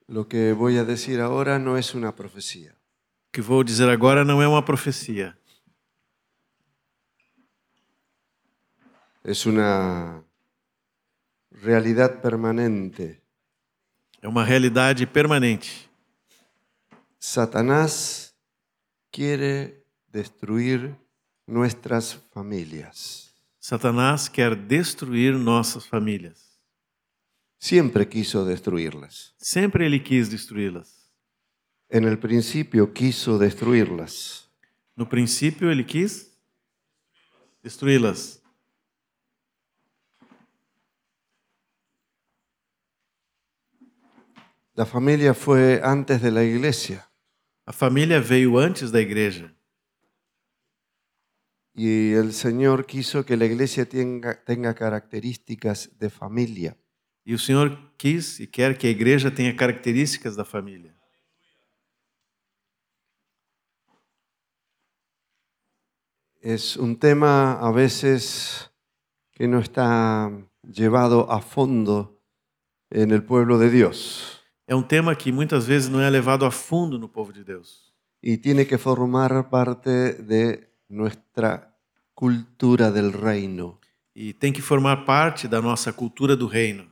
Lo que voy a decir ahora no es una profecía. O que vou dizer agora não é uma profecia. Es una realidad permanente. É uma realidade permanente. Satanás quiere destruir nuestras familias. Satanás quer destruir nossas famílias. Siempre quiso destruirlas. Sempre ele quis destruí-las. En el principio quiso destruirlas. No princípio, ele quis destruí-las. La familia fue antes de la iglesia. A família veio antes da igreja. Y el Señor quiso que la iglesia tenga características de familia. E o Senhor quis e quer que a igreja tenha características da família. Es un tema a veces que no está llevado a fondo en el pueblo de Dios. É um tema que muitas vezes não é levado a fundo no povo de Deus. Y tiene que formar parte de nuestra cultura del reino. E tem que formar parte da nossa cultura do reino.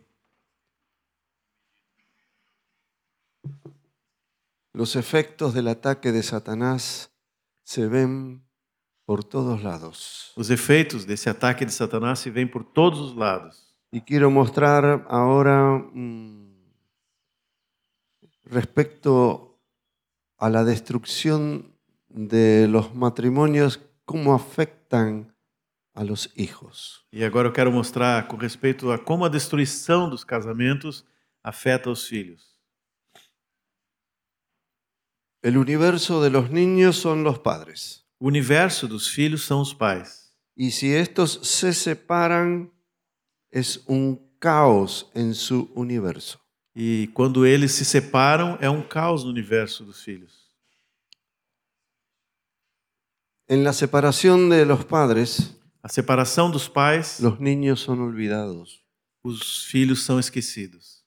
Los efectos del ataque de Satanás se ven por todos lados. Os efeitos desse ataque de Satanás se veem por todos os lados. Y quiero mostrar ahora respecto a la destrucción de los matrimonios, cómo afectan a los hijos. E agora eu quero mostrar com respeito a como a destruição dos casamentos afeta os filhos. El universo de los niños son los padres. O universo dos filhos são os pais. Y si estos se separan, es un caos en su universo. E quando eles se separam, é um caos no universo dos filhos. En la separación de los padres, A separação dos pais, los niños son olvidados. os filhos são esquecidos.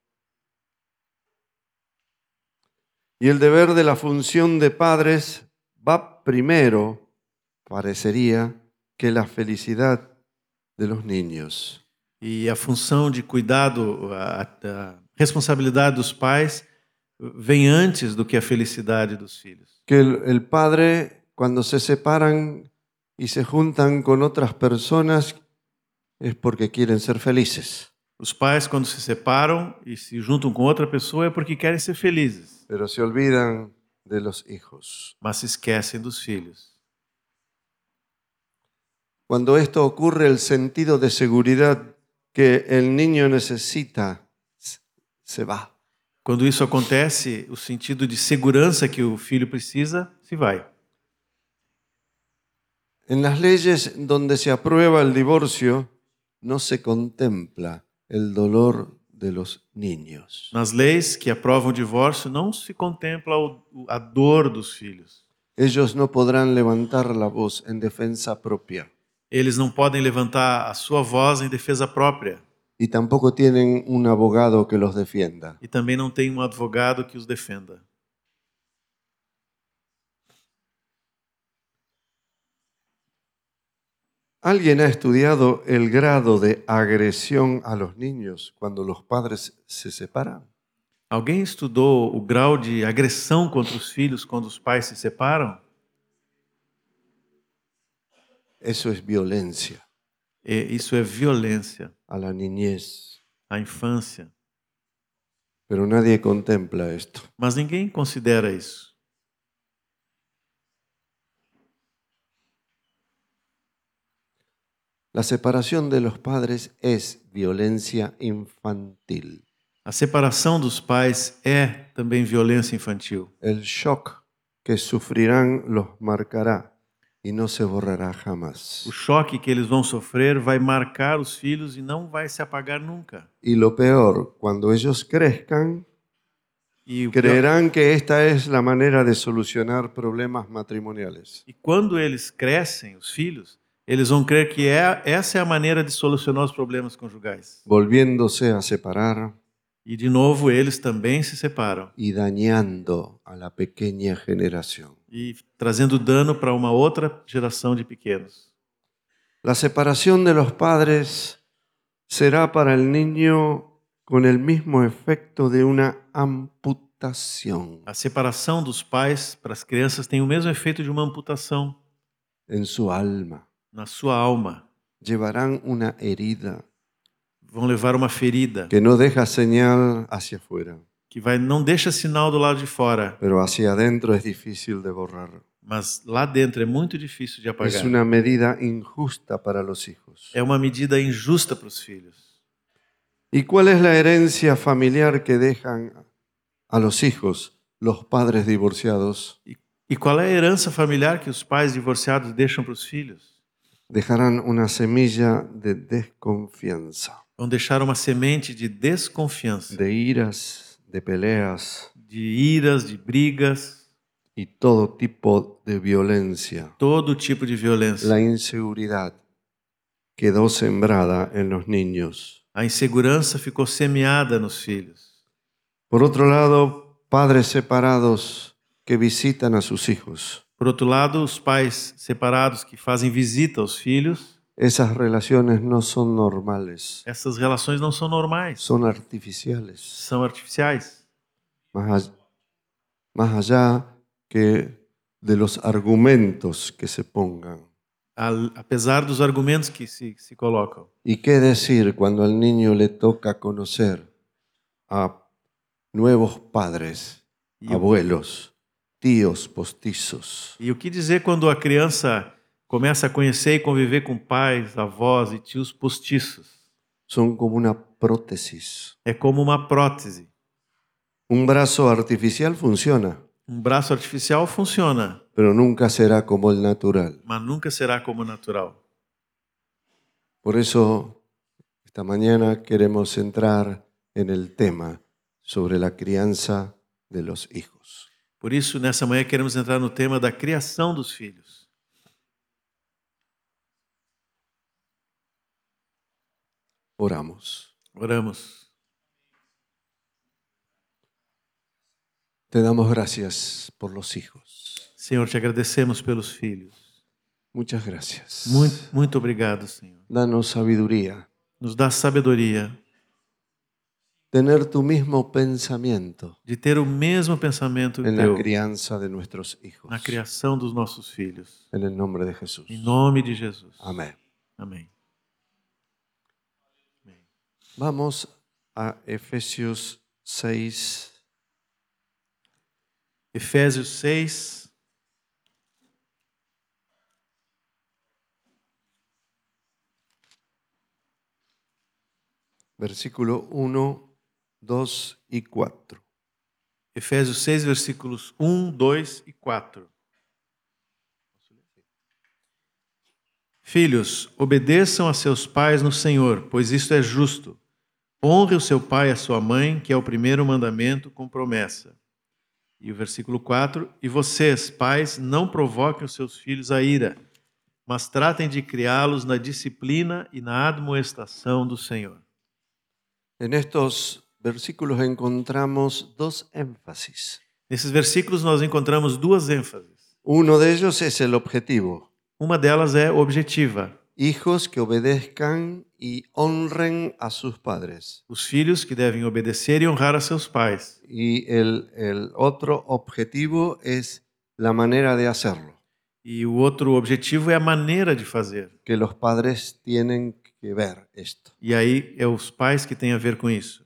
Y el deber de la función de padres va primero, parecería, que la felicidad de los niños. E a função de cuidado, a responsabilidade dos pais vem antes do que a felicidade dos filhos. Que el padre, cuando se separan y se juntan con otras personas, es porque quieren ser felices. Os pais, quando se separam e se juntam com outra pessoa, é porque querem ser felizes, Pero se olvidan de los hijos. mas se esquecem dos filhos. Cuando esto ocurre, el sentido de seguridad que el niño necesita se va. Quando isso acontece, o sentido de segurança que o filho precisa se vai. En las leyes donde se aprueba el divorcio, no se contempla el dolor de los niños. Nas leis que aprovam o divórcio, não se contempla a dor dos filhos. Ellos no podrán levantar la voz en defensa propia Eles não podem levantar a sua voz em defesa própria. y tampoco tienen un abogado que los defienda. E também não tem um advogado que os defenda. ¿Alguien ha estudiado el grado de agresión a los niños cuando los padres se separan? Alguém estudou o grau de agressão contra os filhos quando os pais se separam? Eso es violencia Isso é violência a la niñez. à infância. Pero nadie contempla esto. Mas ninguém considera isso. La separación de los padres es violencia infantil. A separação dos pais é também violência infantil. El shock que sufrirán los marcará y no se borrará jamás. O choque que eles vão sofrer vai marcar os filhos e não vai se apagar nunca. Y lo peor, cuando ellos crezcan, E, o pior, creerán que esta es la manera de solucionar problemas matrimoniales. e quando eles crescem, os filhos, eles vão crer que essa é a maneira de solucionar os problemas conjugais. Volviéndose a separar, E de novo eles também se separam, y dañando a la pequeña generación. e trazendo dano para uma outra geração de pequenos. La separación de los padres será para el niño con el mismo efecto de una amputación A separação dos pais para as crianças tem o mesmo efeito de uma amputação en su alma. na sua alma. Llevarán una herida Vão levar uma ferida que no deja señal hacia afuera, que não deixa sinal do lado de fora, pero hacia adentro es difícil de borrar. mas lá dentro é muito difícil de Es apagar. una medida injusta para los hijos. É uma medida injusta para os filhos. ¿Y cuál es la herencia familiar que dejan a los hijos los padres divorciados? E qual é a herança familiar que os pais divorciados deixam para os filhos? Dejarán una semilla de desconfianza, Vão deixar uma semente de desconfiança, de iras, de peleas de iras, de brigas, y todo tipo de violencia. todo tipo de violência. La inseguridad quedó sembrada en los niños. A insegurança ficou semeada nos filhos. Por otro lado, padres separados que visitan a sus hijos. Por outro lado, os pais separados que fazem visita aos filhos, Esas relaciones no son normales, essas relações não são normais, son artificiales. são artificiais. Más allá que de los argumentos que se pongan. Apesar dos argumentos que se colocam. ¿Y qué decir cuando al niño le toca conocer a nuevos padres, abuelos, tíos postizos? E o que dizer quando a criança começa a conhecer e conviver com pais, avós e tios postiços? Son como una prótesis. É como uma prótese. Un brazo artificial funciona, Um braço artificial funciona, pero nunca será como el natural. mas nunca será como o natural. Por eso, esta mañana queremos entrar en el tema sobre la crianza de los hijos. Por isso, nessa manhã, queremos entrar no tema da criação dos filhos. Oramos. Oramos. Te damos gracias por los hijos. Senhor, te agradecemos pelos filhos. Muchas gracias. Muito obrigado, Senhor. Danos sabiduría. Nos dá sabedoria Tener tu mismo pensamiento de ter o mesmo pensamento en la teu crianza de nuestros hijos. na criação dos nossos filhos. En el nombre de Jesús. Em nome de Jesus. Amén. Amém. Vamos a Efesios 6. Efésios 6. Versículo 1, 2 y 4. Efésios 6, versículos 1, 2 e 4. Filhos, obedeçam a seus pais no Senhor, pois isto é justo. Honre o seu pai e a sua mãe, que é o primeiro mandamento com promessa. E o versículo 4, e vocês, pais, não provoquem os seus filhos a ira, mas tratem de criá-los na disciplina e na admoestação do Senhor. En estos versículos encontramos dos énfasis. Nesses versículos nós encontramos duas ênfases. Uno de ellos es el objetivo. Uma delas é objetiva. Hijos que obedezcan y honren a sus padres. Os filhos que devem obedecer e honrar a seus pais. Y el otro objetivo es la manera de hacerlo. E o outro objetivo é a maneira de fazer. Que los padres tienen que ver esto. E aí é os pais que têm a ver com isso.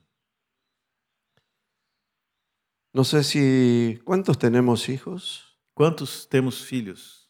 No sé si... ¿Cuántos tenemos hijos? Quantos temos filhos?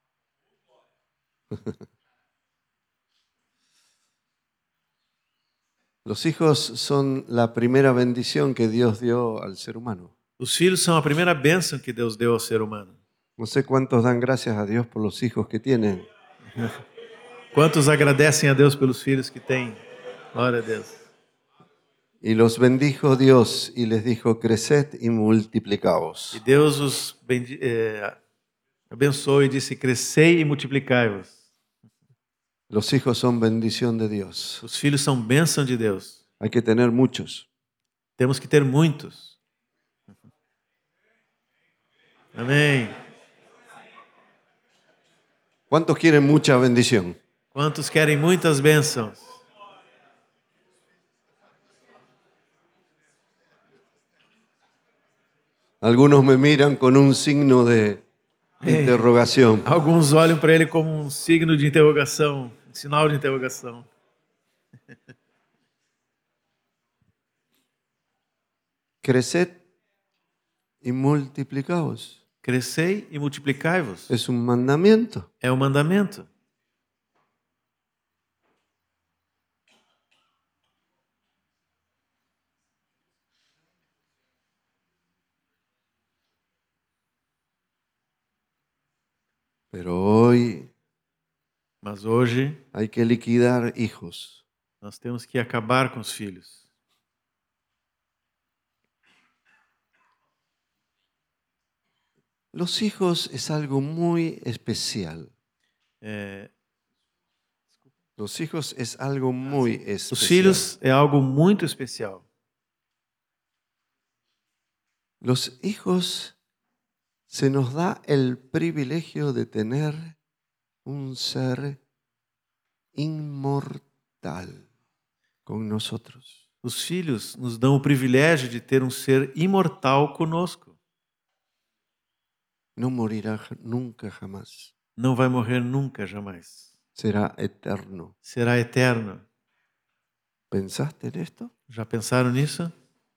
Los hijos son la primera bendición que Dios dio al ser humano. Os filhos são a primeira bênção que Deus deu ao ser humano. No sé cuántos dan gracias a Dios por los hijos que tienen. Quantos agradecem a Deus pelos filhos que têm? Glória a Deus. Y los bendijo Dios y les dijo, creced y multiplicaos. E Deus os abençoou e disse, crescei e multiplicai-vos. Los hijos son bendición de Dios. Os filhos são bênção de Deus. Hay que tener muchos. Temos que ter muitos. Amém. ¿Cuántos quieren mucha bendición? Quantos querem muitas bênçãos? Algunos me miran con un signo de interrogación. Alguns olham para ele como um signo de interrogação, um sinal de interrogação. Creced y multiplicaos. Crescei e multiplicai-vos. Es un mandamiento. É um mandamento. Pero hoy Mas hoje hay que liquidar hijos. nós temos que acabar com os filhos. Los hijos es algo muy especial. É, Los hijos es algo muy os especial. filhos é algo muito especial. Los hijos se nos da el privilegio de tener un ser inmortal con nosotros. Os filhos nos dão o privilégio de ter um ser imortal conosco. No morirá nunca jamás. Não vai morrer nunca, jamais. Será eterno. Será eterno. ¿Pensaste en esto? Já pensaram nisso?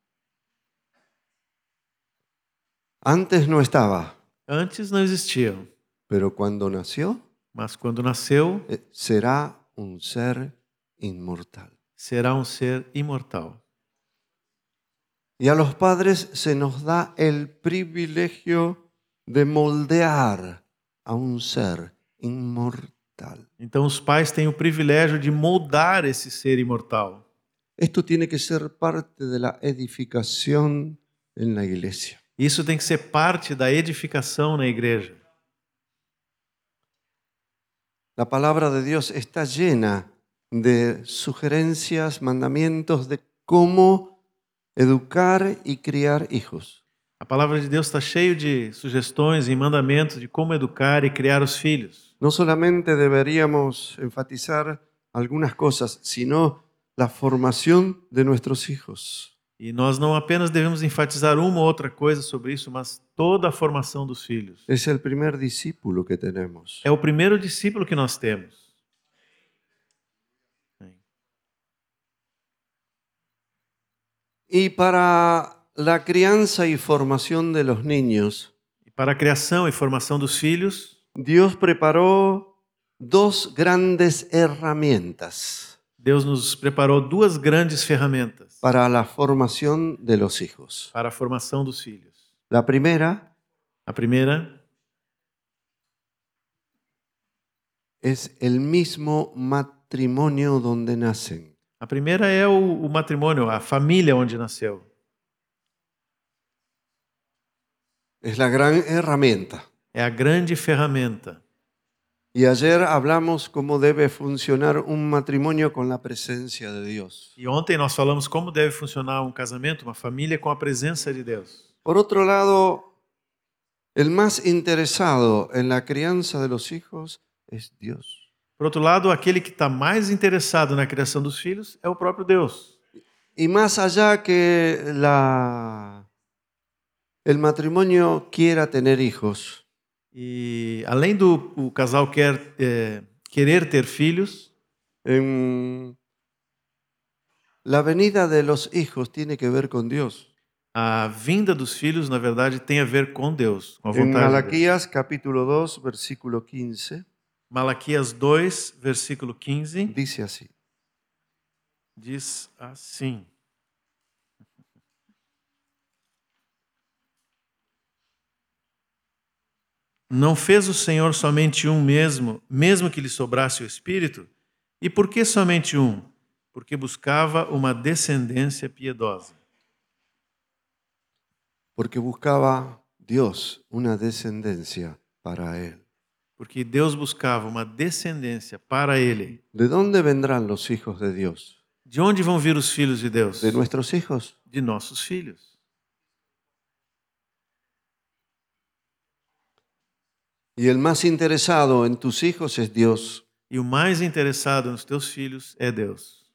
Antes no estaba, Antes não existiam, pero cuando nació, mas quando nasceu, será un ser inmortal. será um ser imortal. Y a los padres se nos da el privilegio de moldear a un ser inmortal. Então os pais têm o privilégio de moldar esse ser imortal. Esto tiene que ser parte de la edificación en la iglesia. Isso tem que ser parte da edificação na igreja. La palabra de Dios está llena de sugerencias, mandamientos de cómo educar y criar hijos. A palavra de Deus está cheio de sugestões e mandamentos de como educar e criar os filhos. No solamente deberíamos enfatizar algunas cosas, sino la formación de nuestros hijos. E nós não apenas devemos enfatizar uma ou outra coisa sobre isso, mas toda a formação dos filhos. Es el primer discípulo que tenemos. É o primeiro discípulo que nós temos. Y para la crianza y formación de los niños, E para a criação e formação dos filhos, Dios preparó dos grandes herramientas Deus nos preparou duas grandes ferramentas para la formación de los hijos. para a formação dos filhos. La primera A primeira es el mismo matrimonio donde nacen. A primeira é o matrimônio, a família onde nasceu. Es la gran herramienta. É a grande ferramenta. Y ayer hablamos cómo debe funcionar un matrimonio con la presencia de Dios. E ontem nós falamos como deve funcionar um casamento, uma família com a presença de Deus. Por otro lado, el más interesado en la crianza de los hijos es Dios. Por outro lado, aquele que está mais interessado na criação dos filhos é o próprio Deus. Y más allá que el matrimonio quiera tener hijos, E além do o casal querer ter filhos, la venida de los hijos tiene que ver con Dios. a vinda dos filhos, na verdade, tem a ver com Deus, com a En vontade de Deus. Malaquías capítulo 2, versículo 15, Malaquias 2, versículo 15, dice así: diz assim: Não fez o Senhor somente um mesmo que lhe sobrasse o espírito? E por que somente um? Porque buscava uma descendência piedosa. porque buscaba Dios una descendencia para él. Porque Deus buscava uma descendência para ele. ¿De dónde vendrán los hijos de Dios? De onde vão vir os filhos de Deus? ¿De nuestros hijos? de nossos filhos. Y el más interesado en tus hijos es Dios. E o mais interessado nos teus filhos é Deus.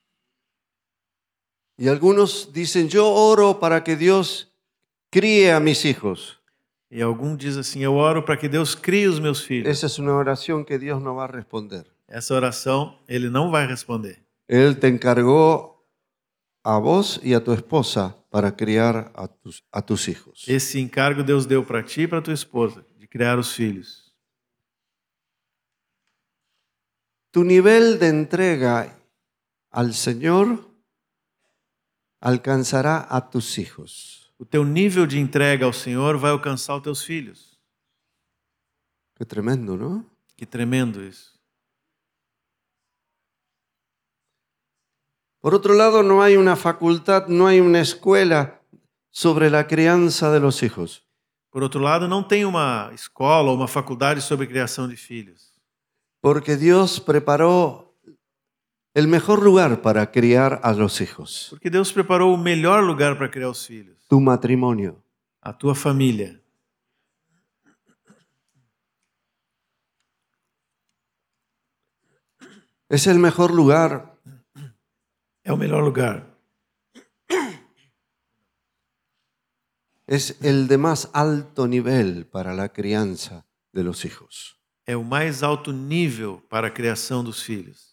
Y algunos dicen, yo oro para que Dios críe a mis hijos. E algum diz assim, eu oro para que Deus crie os meus filhos. Esa es una oración que Dios no va a responder. Essa oração, Ele não vai responder. Él te encargó a vos y a tu esposa para criar a tus hijos. Esse encargo Deus deu para ti e para tua esposa, de criar os filhos. Tu nivel de entrega al Señor alcanzará a tus hijos. O teu nível de entrega ao Senhor vai alcançar os teus filhos. Qué tremendo, ¿no? Que tremendo isso. Por otro lado, no hay una facultad, no hay una escuela sobre la crianza de los hijos. Por outro lado, não tem uma escola ou uma faculdade sobre criação de filhos. Porque Dios preparó el mejor lugar para criar a los hijos. Porque Deus preparou o melhor lugar para criar os filhos. Tu matrimonio. A tua família. Es el mejor lugar. É o melhor lugar. Es el de más alto nivel para la crianza de los hijos. É o mais alto nível para a criação dos filhos.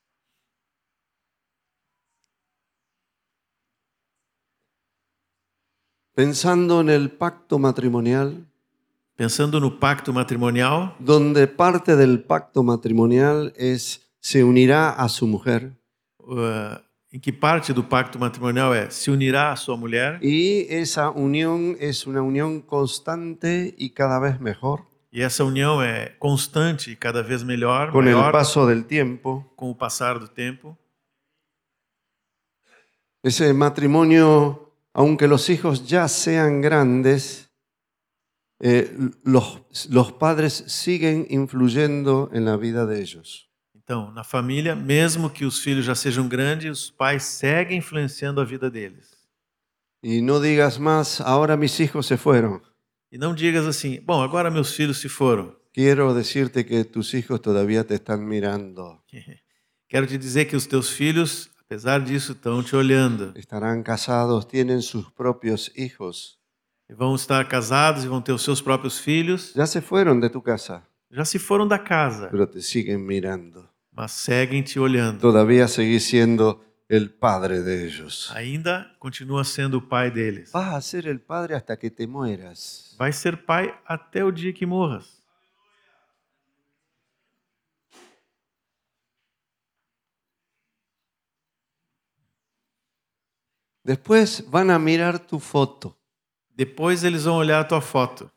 Pensando en el pacto matrimonial, Pensando no pacto matrimonial, donde parte del pacto matrimonial es se unirá a su mujer em que parte do pacto matrimonial é se unirá à sua mulher y esa unión es una unión constante y cada vez mejor e essa união é constante e cada vez melhor, con el maior, paso del tiempo. com o passar do tempo. Ese matrimonio, aunque los hijos ya sean grandes, los padres siguen influyendo en la vida de ellos. Então, na família, mesmo que os filhos já sejam grandes, os pais seguem influenciando a vida deles. Y no digas más, ahora mis hijos se fueron. E não digas assim, bom, agora meus filhos se foram. Quiero decirte que tus hijos todavía te están mirando. Quero te dizer que os teus filhos, apesar disso, estão te olhando. Estarán casados, tienen sus propios hijos. E vão estar casados e vão ter os seus próprios filhos. Ya se fueron de tu casa, Já se foram da casa, pero te siguen mirando. mas seguem te olhando. Todavía seguís siendo el padre de ellos. Ainda continua sendo o pai deles. Vas a ser el padre hasta que te mueras. Vai ser pai até o dia que morras. Después van a mirar tu foto Depois eles vão olhar a tua foto.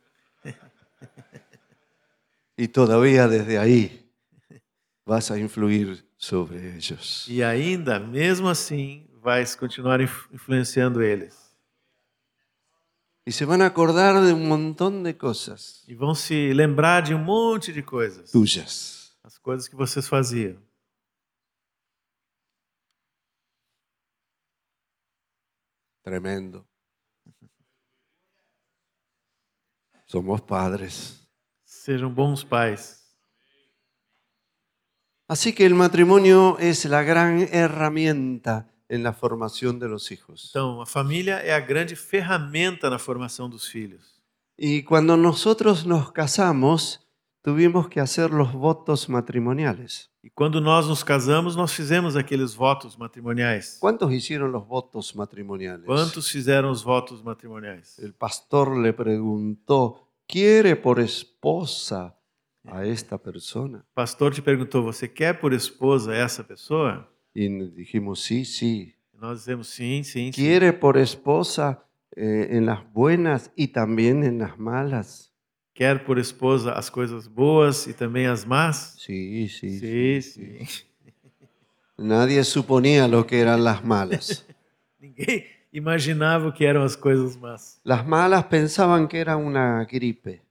y todavía desde ahí vas a influir sobre ellos. E ainda, mesmo assim, vais continuar influenciando eles. Y se van a acordar de un montón de cosas E vão se lembrar de um monte de coisas. tuyas. As coisas que vocês faziam. Tremendo. Somos padres. Sejam bons pais. Así que el matrimonio es la gran herramienta en la formación de los hijos. Então, a família é a grande ferramenta na formação dos filhos. Y cuando nosotros nos casamos, tuvimos que hacer los votos matrimoniales. E quando nós nos casamos, nós fizemos aqueles votos matrimoniais. ¿Cuántos hicieron los votos matrimoniales? Quantos fizeram os votos matrimoniais? El pastor le preguntó, ¿quiere por esposa a esta persona? O pastor te perguntou, você quer por esposa essa pessoa? Y dijimos, sí, sí. E nós dizemos sim, sim, sim. ¿Quiere por esposa en las buenas y también en las malas? Quer por esposa as coisas boas e também as más? Sí, sí. Sim, sim. Nadie suponía lo que eran las malas. Ninguém imaginava o que eram as coisas más. Las malas pensaban que era una gripe.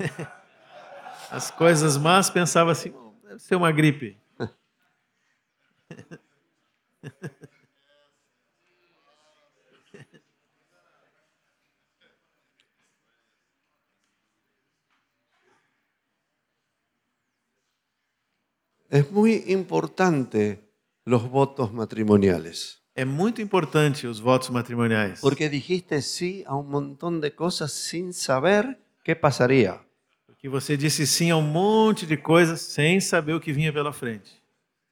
As coisas más pensava assim, deve ser uma gripe. Es muy importante los votos matrimoniales. É muito importante os votos matrimoniais. Porque dijiste sí a un montón de cosas sin saber qué pasaría. Porque você disse sim a um monte de coisas sem saber o que vinha pela frente.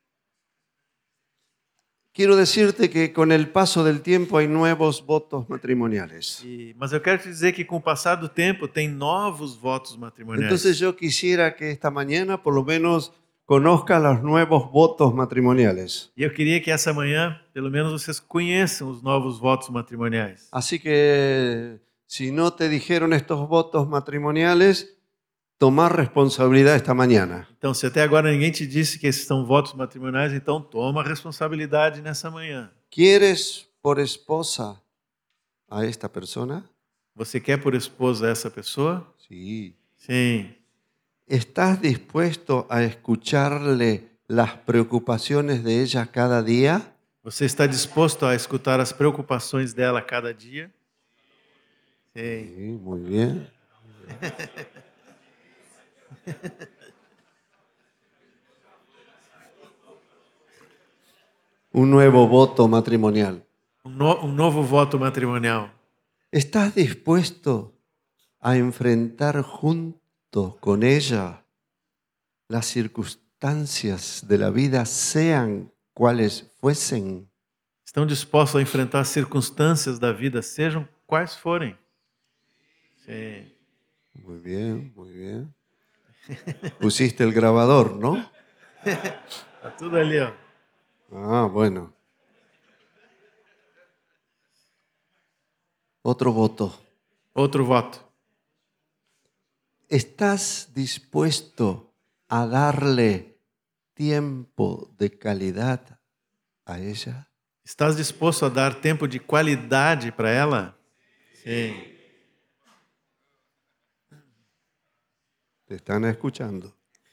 Quiero decirte que con el paso del tiempo hay nuevos votos matrimoniales. Mas eu quero te dizer que com o passar do tempo tem novos votos matrimoniais. Entonces yo quisiera que esta mañana por lo menos conozcas los nuevos votos matrimoniales. E eu queria que essa manhã, pelo menos, vocês conheçam os novos votos matrimoniais. Así que si no te dijeron estos votos matrimoniales, tomar responsabilidad esta mañana. Então, se até agora ninguém te disse que esses são votos matrimoniais, então toma a responsabilidade nessa manhã. ¿Quieres por esposa a esta persona? Você quer por esposa essa pessoa? Sí. Sim. ¿Estás dispuesto a escucharle las preocupaciones de ella cada día? Você está disposto a escutar as preocupações dela a cada dia? Sim. Sí, muy bien. Un nuevo voto matrimonial. Um novo voto matrimonial. ¿Estás dispuesto a enfrentar junto con ella las circunstancias de la vida, sean cuales fuesen? Estão dispostos a enfrentar as circunstâncias da vida, sejam quais forem? Sim. Muy bien, muy bien. Pusiste el grabador, ¿no? Tá tudo ali, ó. Ah, bueno. Otro voto. Outro voto. ¿Estás dispuesto a darle tiempo de calidad a ella? Estás disposto a dar tempo de qualidade para ela? Sim. Te están escuchando.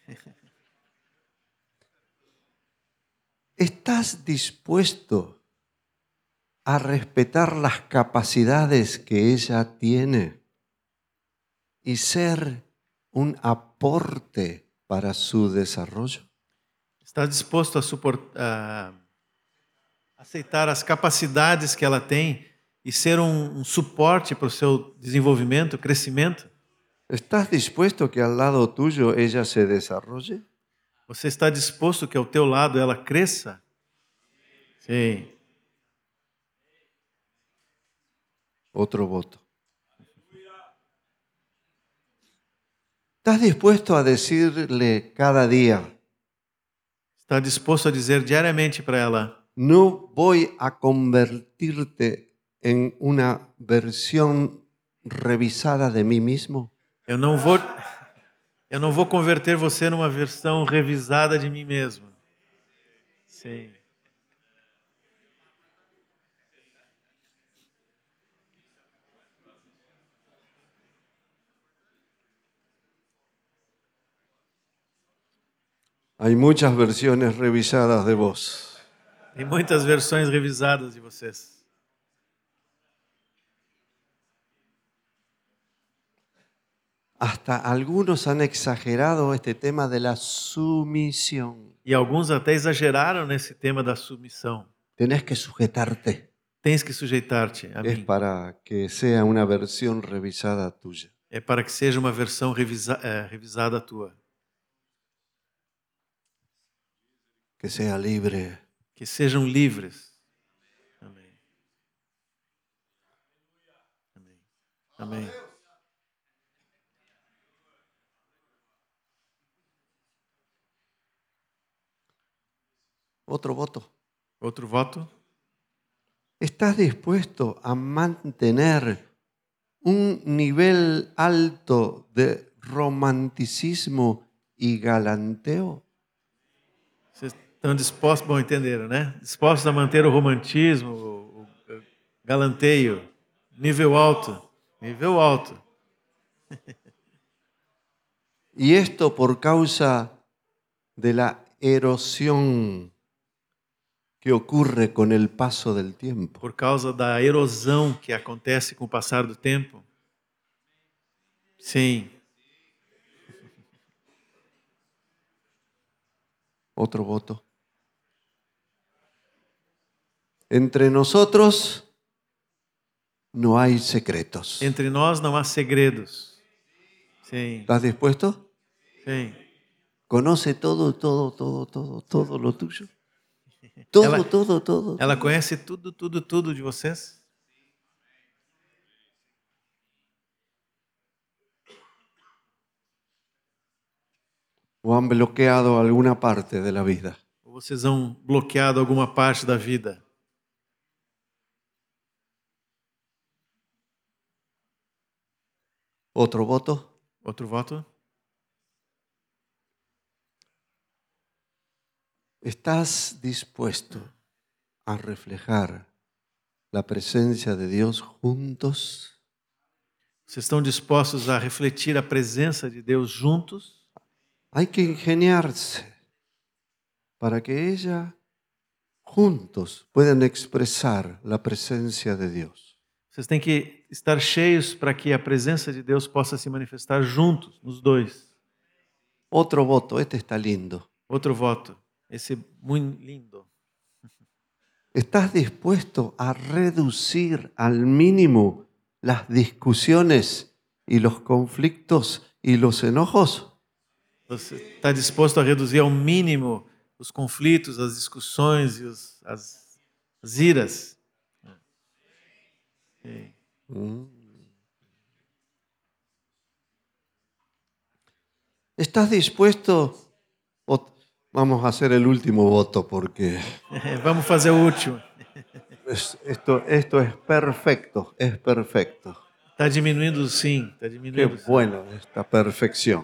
¿Estás dispuesto a respetar las capacidades que ella tiene y ser un aporte para su desarrollo? Estás disposto a aceitar as capacidades que ela tem e ser um suporte para o seu desenvolvimento, crescimento? ¿Estás dispuesto que al lado tuyo ella se desarrolle? Você está disposto que ao teu lado ela cresça? Sim. Otro voto. ¿Estás dispuesto a decirle cada día, Está disposto a dizer diariamente para ela: no voy a convertirte en una versión revisada de mí mismo? eu não vou converter você numa versão revisada de mim mesmo. Sim. Hay muchas versiones revisadas de vos. Tem muitas versões revisadas de vocês. Hasta algunos han exagerado este tema de la sumisión. E alguns até exageraram nesse tema da submissão. Tenés que sujetarte. Tens que sujeitar-te a Es mim. para que sea una versión revisada tuya. É para que seja uma versão revisada tua. Que sea libre. Que sejam livres. Amém. Amém. Amém. Otro voto. Outro voto. ¿Estás dispuesto a mantener un nivel alto de romanticismo y galanteo? Vocês estão dispostos, bom, entenderam, né? Dispostos a manter o romantismo, o galanteio, nível alto. Nível alto. Y esto por causa de la erosión que ocurre con el paso del tiempo. Por causa da erosão que acontece com o passar do tempo. Sim. Otro voto. Entre nosotros no hay secretos. Entre nós não há segredos. Sim, ¿Estás dispuesto? sim. ¿Conoce todo, todo, todo, todo, todo lo tuyo? Todo, Ela- todo, todo. Ela todo. conhece tudo, tudo, tudo de vocês? ¿O han bloqueado alguna parte de la vida? Ou vocês han bloqueado alguma parte da vida? ¿Otro voto? Outro voto? ¿Estás dispuesto a reflejar la presencia de Dios juntos? Vocês estão dispostos a refletir a presença de Deus juntos? Hay que ingeniarse para que ella juntos puedan expresar la presencia de Dios. Vocês têm que estar cheios para que a presença de Deus possa se manifestar juntos, nos dois. Otro voto, este está lindo. Outro voto. Esse é muito lindo. ¿Estás dispuesto a reducir al mínimo las discusiones y los conflictos y los enojos? Você está disposto a reduzir ao mínimo os conflitos, as discussões e as iras? Sim. ¿Estás dispuesto? Vamos a hacer el último voto porque Vamos fazer o último. esto es perfecto, es perfecto. Está diminuindo sim, está Qué diminuindo. Sim. bueno esta perfección.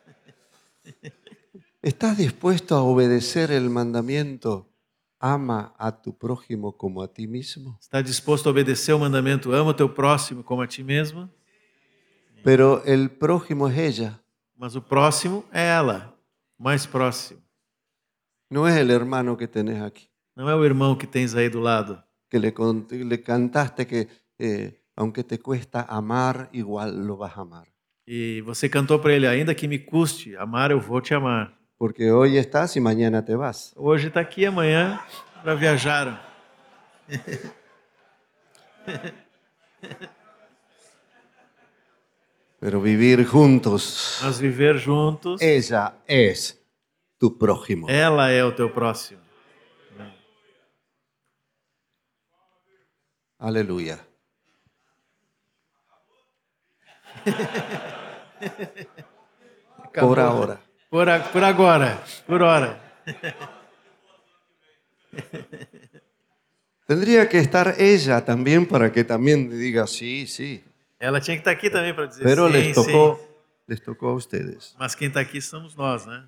¿Estás dispuesto a obedecer el mandamiento? Ama a tu prójimo como a ti mismo. Está disposto a obedecer o mandamento, ama o teu próximo como a ti mesmo? Pero el prójimo es ella, Mas o próximo é ela, o mais próximo. no es el hermano que tenés aquí. Não é o irmão que tens aí do lado, Que le cantaste que aunque te cuesta amar, igual lo vas a amar. e você cantou para ele, ainda que me custe amar, eu vou te amar. Porque hoy estás y mañana te vas. Hoje está aqui, amanhã já viajaram. Pero vivir juntos, Mas viver juntos, ella es tu prójimo. ela é o teu próximo. Aleluya. Acabou. Por ahora. Por agora, por hora. Tendría que estar ella también para que también diga sí, sí. Ela tinha que estar aqui também para dizer Pero sim, les tocó a ustedes. Mas quem está aqui somos nós, né?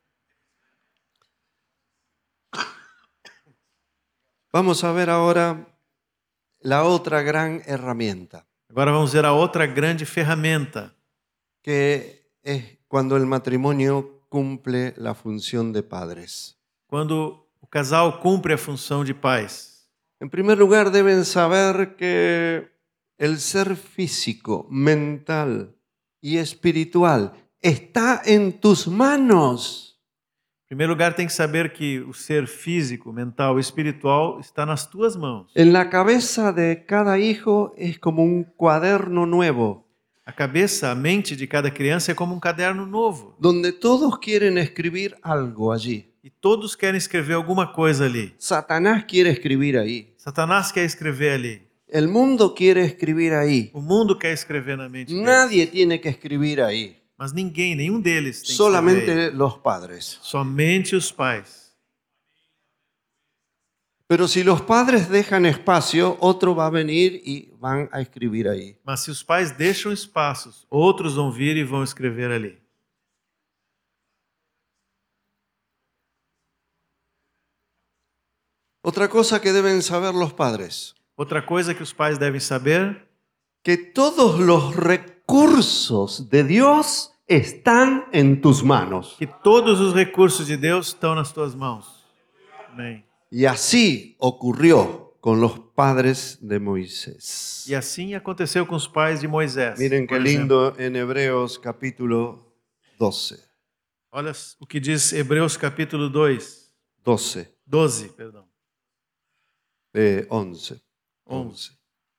Vamos a ver ahora la otra gran herramienta, Agora vamos ver a outra grande ferramenta, que es cuando el matrimonio cumple la función de padres. quando o casal cumpre a função de pais. En primer lugar, deben saber que el ser físico, mental y espiritual está en tus manos. Em primeiro lugar, tem que saber que o ser físico, mental e espiritual está nas tuas mãos. En la cabeza de cada hijo es como un cuaderno nuevo, A cabeça, a mente de cada criança é como um caderno novo. donde todos quieren escribir algo allí. E todos querem escrever alguma coisa ali. Satanás quiere escribir ahí. Satanás quer escrever ali. El mundo quiere escribir ahí. O mundo quer escrever na mente deles. Nadie tiene que escribir ahí. Mas ninguém, nenhum deles tem que escrever. Solamente los padres. Somente os pais. Pero si los padres dejan espacio, otro va a venir y van a escribir ahí. Mas se os pais deixam espaços, outros vão vir e vão escrever ali. Otra cosa que deben saber los padres, Outra coisa que os pais devem saber, que todos los recursos de Dios están en tus manos. que todos os recursos de Deus estão nas tuas mãos. Amém. Y así ocurrió con los padres de Moisés. E assim aconteceu com os pais de Moisés. Miren qué por exemplo. lindo en Hebreos capítulo 12. Olha o que diz Hebreus capítulo 2, 12, 12, perdão, 11, 11.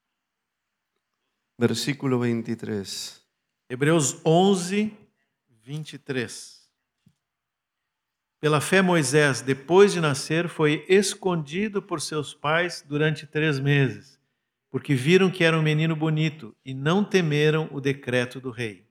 versículo 23. Hebreus 11, 23. Pela fé, Moisés, depois de nascer, foi escondido por seus pais durante 3 meses, porque viram que era um menino bonito e não temeram o decreto do rei.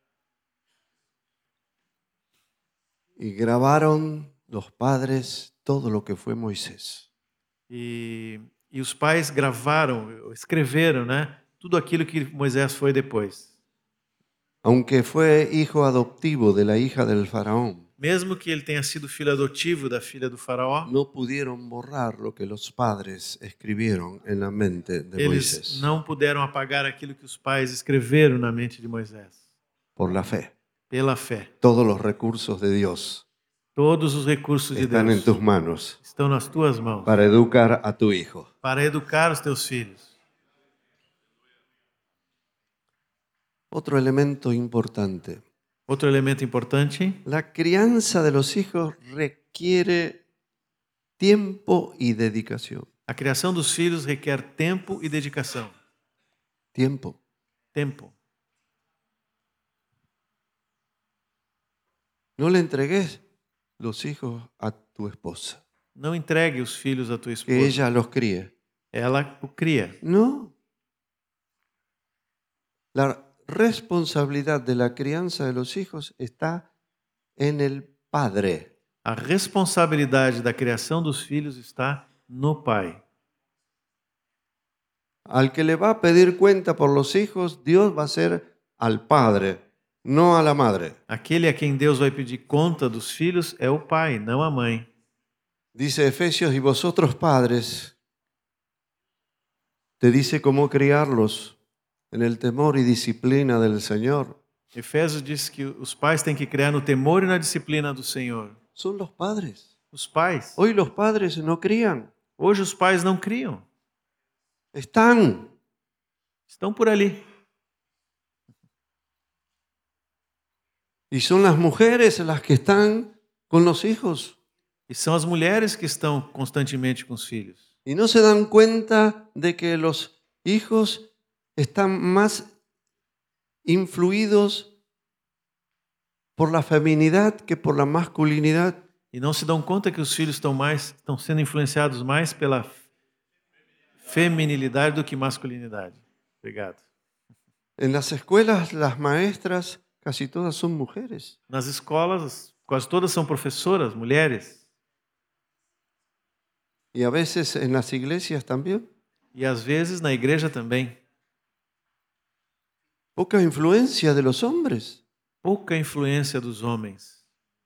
Y grabaron los padres todo lo que fue Moisés. E os pais gravaram, escreveram, né? Tudo aquilo que Moisés foi depois. Aunque fue hijo adoptivo de la hija del faraón, Mesmo que ele tenha sido filho adotivo da filha do faraó, no pudieron borrar lo que los padres escribieron en la mente de eles Moisés não puderam apagar aquilo que os pais escreveram na mente de Moisés. por la fe. Pela fé. Todos los recursos de Dios Todos os recursos de están en Deus tus manos estão nas tuas mãos para educar a tu hijo. para educar os teus filhos. Otro elemento importante. Outro elemento importante, La crianza de los hijos requiere tiempo y dedicación. a criação dos filhos requer tempo e dedicação. Tiempo. Tempo. No le entregues los hijos a tu esposa, Não entregue os filhos à tua que esposa. ella los críe. Ela o cria. No. La responsabilidad de la crianza de los hijos está en el padre. A responsabilidade da criação dos filhos está no pai. Al que le va a pedir cuenta por los hijos, Dios va a ser al padre, no a la madre. Aquele a quem Deus vai pedir conta dos filhos é o pai, não a mãe. Dice Efesios, y vosotros padres, te dice cómo criarlos en el temor y disciplina del Señor. Efésios diz que os pais têm que criar no temor e na disciplina do Senhor. Son los padres. Os pais. Hoy los padres no crían, Hoje os pais não criam. están. Estão por ali. Y son las mujeres las que están con los hijos. E são as mulheres que estão constantemente com os filhos. Y no se dan cuenta de que los hijos están más influidos por la feminidad que por la masculinidad. E não se dão conta que os filhos estão sendo influenciados mais pela feminilidade do que masculinidade. Obrigado. En las escuelas las maestras casi todas son mujeres. Nas escolas, quase todas são professoras, mulheres. Y a veces en las iglesias también. E às vezes na igreja também. Poca influencia de los hombres. Pouca influência dos homens.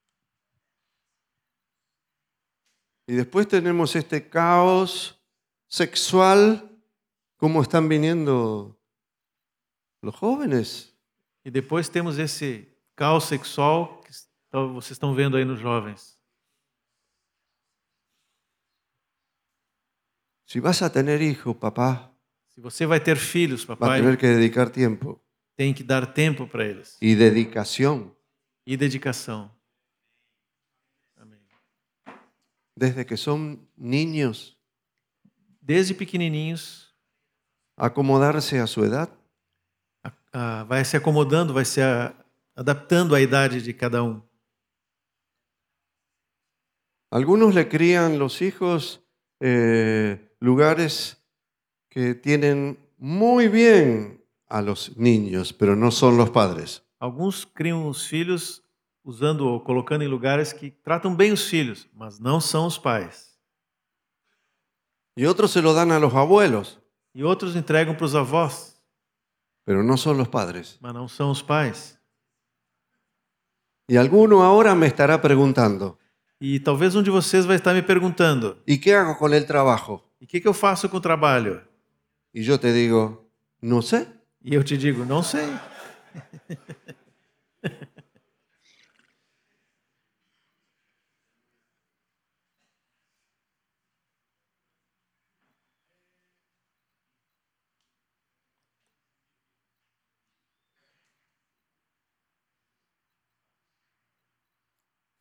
Y después tenemos este caos sexual, cómo están viniendo los jóvenes. E depois temos esse caos sexual que vocês estão vendo aí nos jovens. Si vas a tener hijos, papá, Se você vai ter filhos, va a papai, tener que dedicar tiempo tem que dar tempo para eles. y dedicación E dedicação. Amém. desde que son niños, Desde pequenininhos, acomodarse a su edad. vai se acomodando, vai se adaptando à idade de cada um. Algunos le crían los hijos lugares que tienen muy bien a los niños, pero no son los padres. Alguns criam os filhos usando ou colocando em lugares que tratam bem os filhos, mas não são os pais. Y otros se lo dan a los abuelos, E outros entregam para os avós, pero no son los padres. mas não são os pais. Y alguno ahora me estará preguntando, E talvez um de vocês vai estar me perguntando: ¿y qué hago con el trabajo? e o que eu faço com o trabalho? Y yo te digo, no sé. E eu te digo: não sei.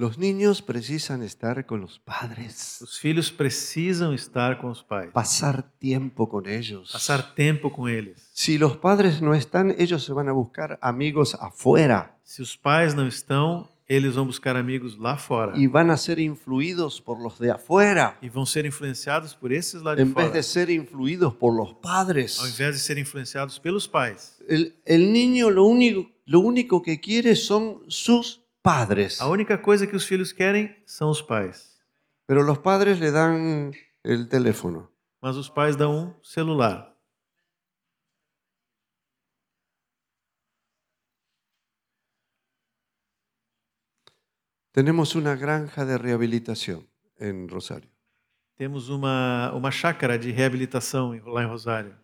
Los niños precisan estar con los padres, Os filhos precisam estar com os pais, pasar tiempo con ellos. passar tempo com eles. Si los padres no están, ellos se van a buscar amigos afuera Se os pais não estão, eles vão buscar amigos lá fora y van a ser influidos por los de afuera e vão ser influenciados por esses lá de en vez fora, de ser influidos por los ao padres. invés de serem influenciados pelos pais. El niño lo único que quiere son sus padres, A única coisa que os filhos querem são os pais, pero los padres le dan el teléfono. mas os pais dão um celular. Tenemos una granja de rehabilitación en Rosario. Temos uma chácara de reabilitação lá em Rosário.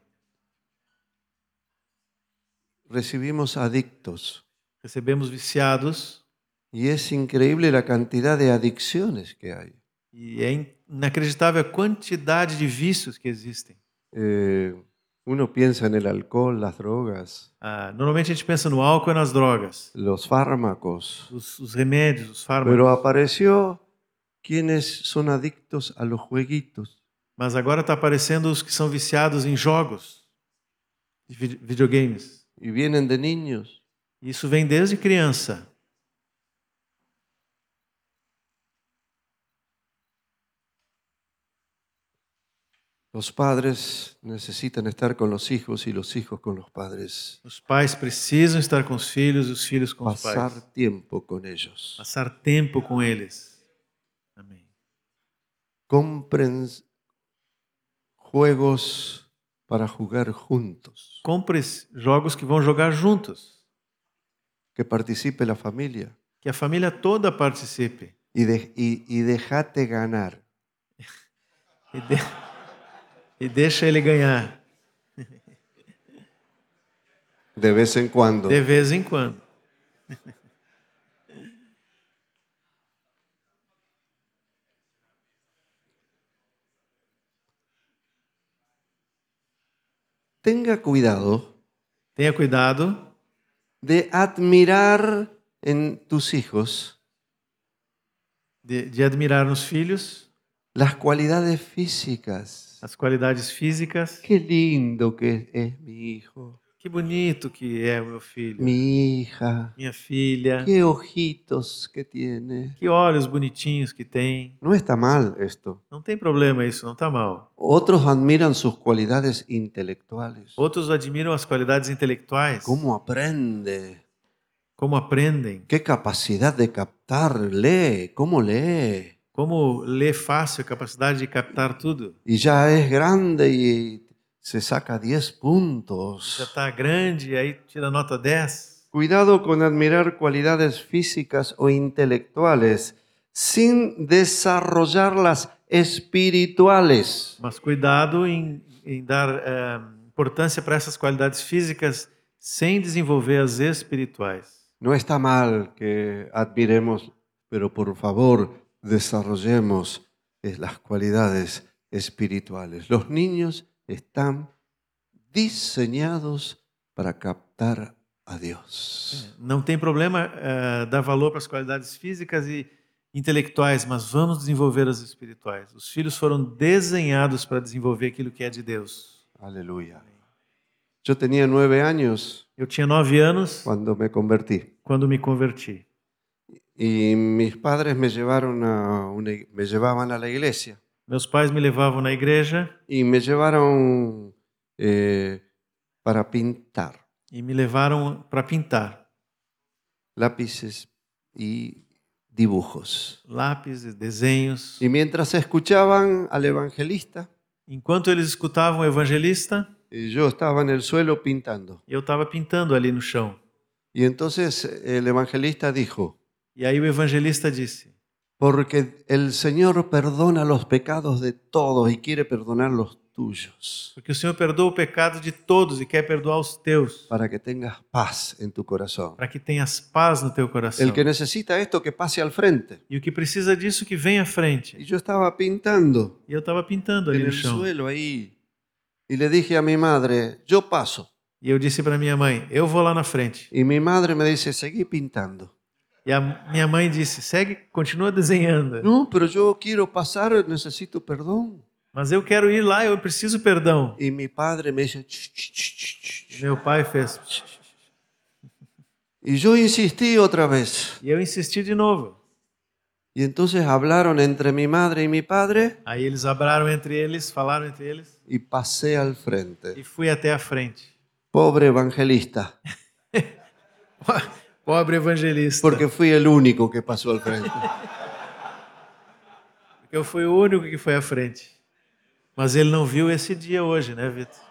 Recibimos adictos Recebemos viciados y es increíble la cantidad de adicciones que hay. e é inacreditável a quantidade de vícios que existem. Uno piensa en el alcohol, las drogas, Normalmente a gente pensa no álcool e nas drogas, los fármacos, os remédios, os fármacos. pero apareció quienes son adictos a los jueguitos. Mas agora está aparecendo os que são viciados em jogos, de videogames. Y vienen de niños. Isso vem desde criança. Los padres necesitan estar con los hijos y los hijos con los padres. Os pais precisam estar com os filhos e os filhos com os Pasar pais. tiempo con ellos. Passar tempo com eles. Amém. Compren juegos para jugar juntos. Compre jogos que vão jogar juntos. Que participe la familia. Que a família toda participe. Y déjate ganar. E deixa ele ganhar. De vez en cuando. De vez em quando. Tenga cuidado Tenha cuidado de admirar en tus hijos de admirar nos filhos las cualidades físicas. as qualidades físicas. Qué lindo que es mi hijo, Que bonito que é o meu filho. mi hija, Minha filha. qué ojitos que tiene. Que olhos bonitinhos que tem. No está mal esto. Não tem problema isso, não está mal. Otros admiran sus cualidades intelectuales. Outros admiram as qualidades intelectuais. ¿Cómo aprende? Como aprendem. ¿Qué capacidad de captar? Lee, ¿cómo lee? Como lê fácil, a capacidade de captar tudo. Y ya es grande y se saca 10 Já puntos. está grande, aí tira nota 10. Cuidado con admirar cualidades físicas o intelectuales sin desarrollarlas espirituales. Mas cuidado em dar importância para essas qualidades físicas sem desenvolver as espirituais. No está mal que admiremos, pero por favor desarrollemos las cualidades espirituales. Los niños están diseñados para captar a Dios. Não tem problema dar valor para as qualidades físicas e intelectuais, mas vamos desenvolver as espirituais. Os filhos foram desenhados para desenvolver aquilo que é de Deus. Aleluya. Yo tenía 9 años Eu tinha 9 anos cuando me convertí quando me converti. y mis padres me llevaban a la iglesia Meus pais me levavam na igreja y me llevaron para pintar e me levaram para pintar. lápices y dibujos. Lápis, desenhos. Y mientras escuchaban al evangelista, Enquanto eles escutavam o evangelista, yo estaba en el suelo pintando. eu estava pintando ali no chão. Y entonces el evangelista dijo, E aí o evangelista disse: porque el Señor perdona los pecados de todos y quiere perdonar los tuyos, porque o Senhor perdoa o pecado de todos e quer perdoar os teus, para que tengas paz en tu corazón. para que tenhas paz no teu coração. El que necesita esto, que pase al frente. E o que precisa disso, que venha à frente. Y yo estaba pintando E eu estava pintando ali en no el chão. suelo ahí. Y le dije a mi madre, yo paso. E eu disse para minha mãe: eu vou lá na frente. Y mi madre me dice, seguí pintando. E E a minha mãe disse, segue, continua desenhando. No, pero yo quiero pasar, necesito perdón. Mas eu quero ir lá, eu preciso perdão. Y mi padre me dice, E meu pai fez. y yo insistí otra vez. E eu insisti de novo. Y entonces hablaron entre mi madre y mi padre Aí eles abraram entre eles, falaram entre eles. y pasé al E frente. fui até a frente. Pobre evangelista, Pobre evangelista. porque fui el único que pasó al frente. Porque eu fui o único que foi à frente. Mas ele não viu esse dia hoje, né, Vitor?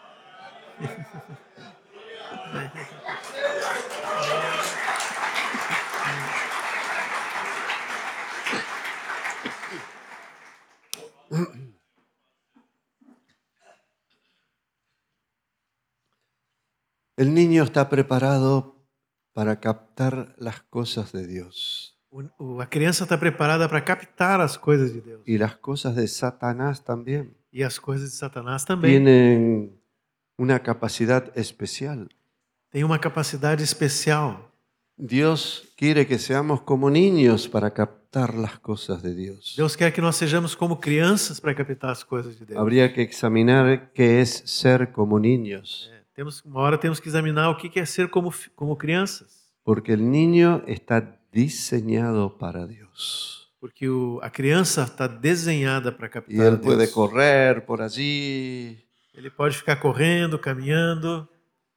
El niño está preparado para captar las cosas de Dios. A criança está preparada para captar as coisas de Deus. Y las cosas de Satanás también. E as coisas de Satanás também. Tienen una capacidad especial. Tem uma capacidade especial. Dios quiere que seamos como niños para captar las cosas de Dios. Deus quer que nós sejamos como crianças para captar as coisas de Deus. Habría que examinar qué es ser como niños, Uma hora temos que examinar o que é ser como crianças. porque el niño está diseñado para Dios. Porque a criança está desenhada para Y captar a él puede Deus. correr por allí, Ele pode ficar correndo, caminhando,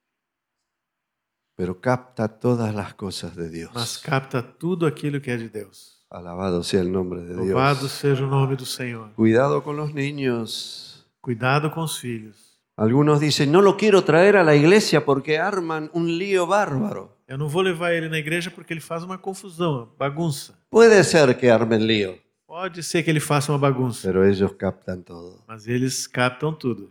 pero capta todas las cosas de mas Dios. capta tudo aquilo que é de Deus. Alabado sea el nombre de Louvado Dios. seja o nome do Senhor. Cuidado con los niños. Cuidado com os filhos. Algunos dicen, no lo quiero traer a la iglesia porque arman un lío bárbaro. Eu não vou levar ele na igreja porque ele faz uma confusão, uma bagunça. Puede ser que armen lío, Pode ser que ele faça uma bagunça, pero ellos captan todo. mas eles captam tudo.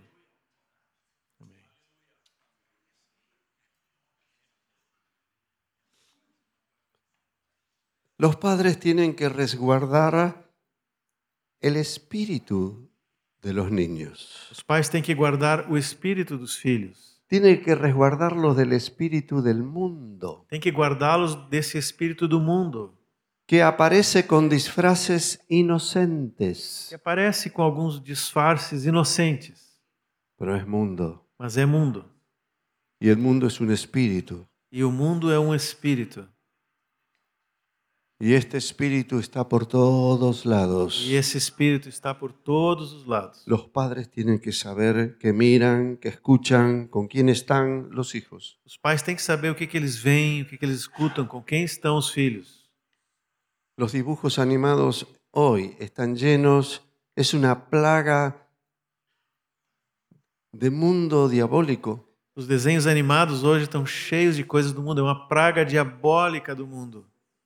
Los padres tienen que resguardar el espíritu de los niños. Os pais têm que guardar o espírito dos filhos. Tienen que resguardarlos del espíritu del mundo, Tem que guardá-los desse espírito do mundo, que aparece con disfraces que inocentes, aparece com alguns disfarces inocentes, pero es mundo. mas é mundo. Y el mundo es un espíritu. E o mundo é um espírito. Y este espíritu está por todos lados. E esse espírito está por todos os lados. Los padres tienen que saber que miran, que escuchan, con quién están los hijos. Os pais têm que saber o que eles veem, o que eles escutam, com quem estão os filhos. Los dibujos animados hoy están llenos, es una plaga de mundo diabólico. Os desenhos animados hoje estão cheios de coisas do mundo, é uma praga diabólica do mundo.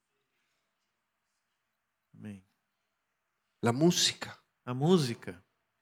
Amém. La música. A música.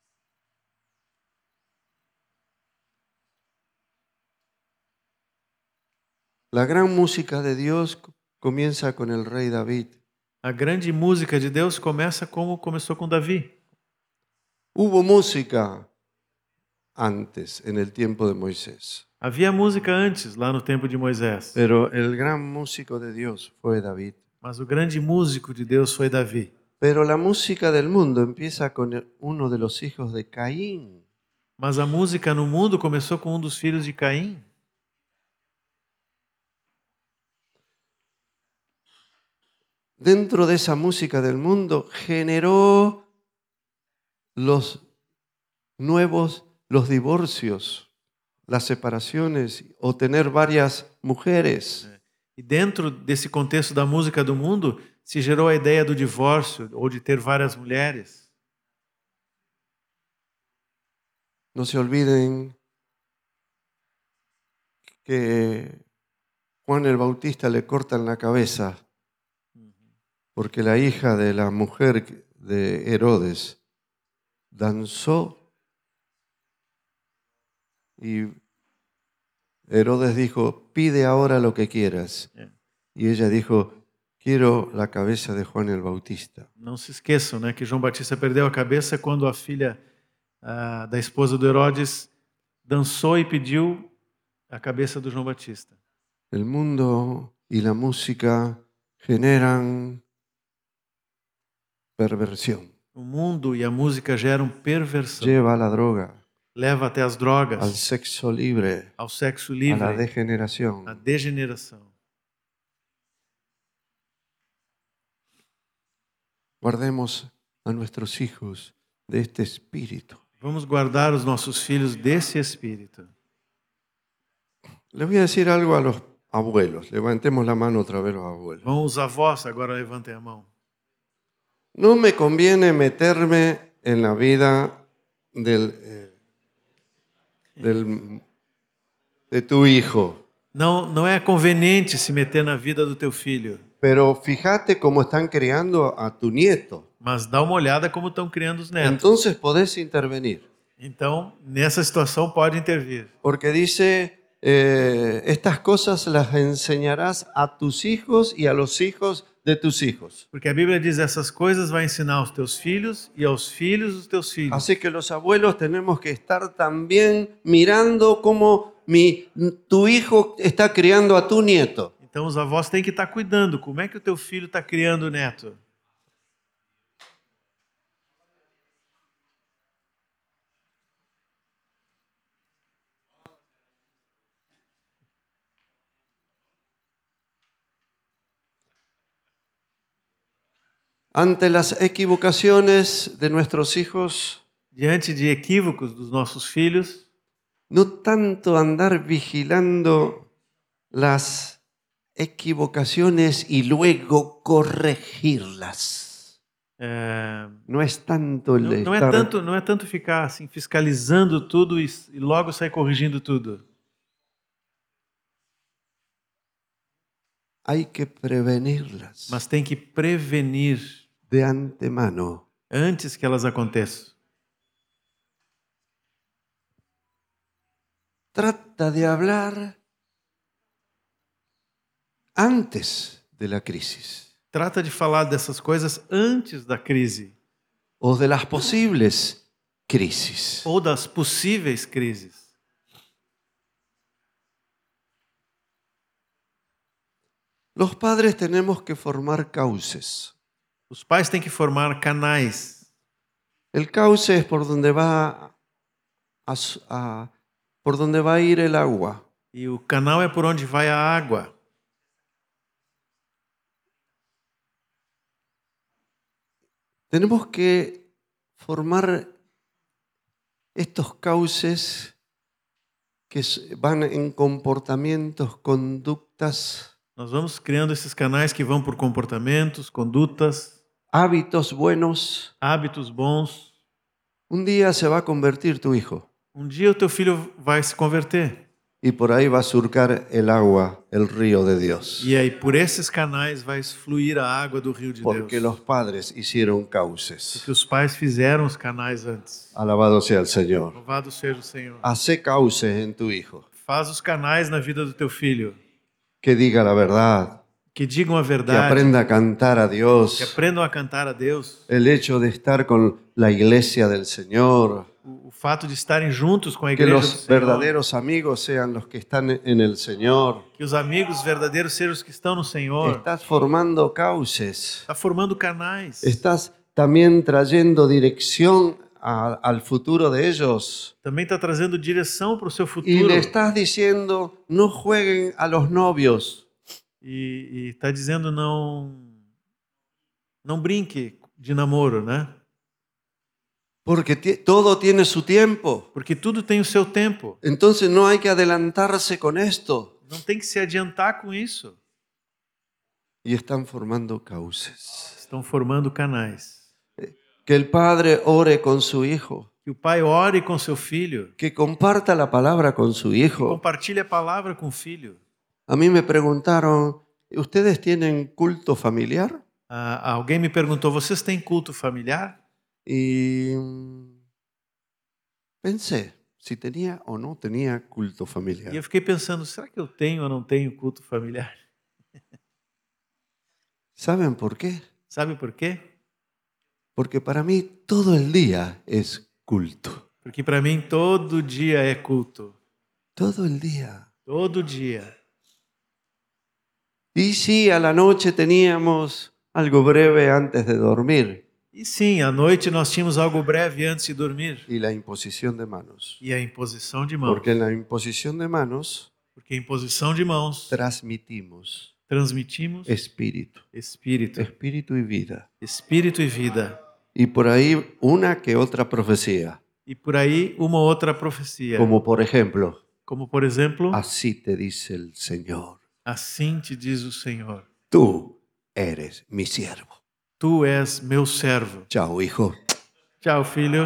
La gran música de Dios comienza con el rey David. A grande música de Deus começa como começou com Davi. Hubo música antes, en el tiempo de Moisés, Havia música antes, lá no tempo de Moisés. pero el gran músico de Dios fue David. Mas o grande músico de Deus foi Davi. Pero la música del mundo empieza con uno de los hijos de Caín. Mas a música no mundo começou com um dos filhos de Caim. Dentro de esa música del mundo generó los divorcios, las separaciones o tener varias mujeres. E dentro desse contexto da música do mundo, se gerou a ideia do divórcio ou de ter várias mulheres. No se olviden que Juan el Bautista le cortan la cabeza porque la hija de la mujer de Herodes danzó y Herodes dijo, pide ahora lo que quieras. Y ella dijo, quiero la cabeza de Juan el Bautista. Não se esqueçam, né, que João Batista perdeu a cabeça quando a filha da esposa do Herodes dançou e pediu a cabeça do João Batista. El mundo y la música generan perversión. O mundo e a música geram perversão. Lleva a la droga, Leva até as al drogas, sexo libre, ao sexo a la livre, à degeneración. degeneração. Guardemos a nuestros hijos de este espíritu. Vamos guardar os nossos filhos desse espírito. Les voy a decir algo a los abuelos. Levantemos la mano otra vez los abuelos. Vão os avós, agora levantem a mão. No me conviene meterme en la vida de tu hijo, Não é conveniente se meter na vida do teu filho, pero fíjate cómo están criando a tu nieto. mas dá uma olhada como estão criando os netos. Entonces podés intervenir, Então, nessa situação pode intervir. porque dice, estas cosas las enseñarás a tus hijos y a los hijos de tus hijos. Porque a Bíblia diz essas coisas vai ensinar aos teus filhos e aos filhos dos teus filhos. Así que los abuelos tenemos que estar también mirando cómo tu hijo está criando a tu nieto. Então os avós têm que estar cuidando. Como é que o teu filho está criando o neto? Ante las equivocaciones de nuestros hijos, Diante de equívocos dos nossos filhos, no tanto andar vigilando las equivocaciones y luego corregirlas. No es tanto el não é tanto ficar assim fiscalizando tudo e logo sair corrigindo tudo. Hay que prevenirlas Mas tem que prevenir de antemano. antes que elas aconteçam. Trata de hablar antes de la crisis Trata de falar dessas coisas antes da crise o de las posibles crisis. ou das possíveis crises. Los padres tenemos que formar cauces. Os pais têm que formar canais. El cauce es por donde por donde va a ir el agua. E o canal é por onde vai a água. Tenemos que formar estos cauces que van en comportamientos, conductas, Nós vamos criando esses canais que vão por comportamentos, condutas, hábitos buenos. hábitos bons. Un día se va a convertir tu hijo Um dia o teu filho vai se converter. y por ahí va a surcar el agua, el río de Dios. E aí por esses canais vai fluir a água do rio de Porque Deus. los padres hicieron cauces. Porque os pais fizeram os canais antes. Alabado sea el Señor. Louvado seja o Senhor. Hace cauces en tu hijo. Faz os canais na vida do teu filho. Que diga la verdad. Que digam a Que verdade. aprenda a cantar a Que Dios. aprendam a cantar a Deus. El hecho de estar con la iglesia del Señor. O fato de estarem juntos com a Que igreja do los Senhor. verdaderos amigos sean los que están en el Señor. Que os amigos verdadeiros sejam os que estão no Senhor. Estás formando cauces. Está formando canais. Estás también trayendo dirección al futuro de ellos. Também está trazendo direção para o seu Y futuro. le estás diciendo, no jueguen a los novios. E está dizendo não brinque de namoro, né? Porque todo tiene su tiempo. Porque tudo tem o seu tempo. Entonces no hay que adelantarse con esto. Não tem que se adiantar com isso. Y están formando cauces. Estão formando canais. Que el padre ore con su hijo. Que o pai ore com seu filho. Que comparta la palabra con su hijo. Compartilhe a palavra com o filho. A mí me preguntaron, ¿ustedes tienen culto familiar? Alguém me perguntou, vocês têm culto familiar? Y pensé si tenía o no tenía culto E familiar. eu fiquei pensando, será que eu tenho ou não tenho culto familiar? ¿Saben por qué? Sabe por quê? Porque para mí todo el día es culto. Porque para mim todo dia é culto. Todo el día. Todo dia. Y sí, a la noche teníamos algo breve antes de dormir E sim, à noite nós tínhamos algo breve antes de dormir. y la imposición de manos. E a imposição de mãos. Porque en la imposición de manos Porque a imposição de mãos transmitimos transmitimos espíritu, espírito. espíritu y vida. Espírito e vida. Y por ahí una que otra profecía, E por aí uma outra profecia. como por ejemplo, Como por exemplo, así te dice el Señor, assim te diz o Senhor: tú eres mi siervo. Tu és meu servo. Chao, hijo. Tchau, filho.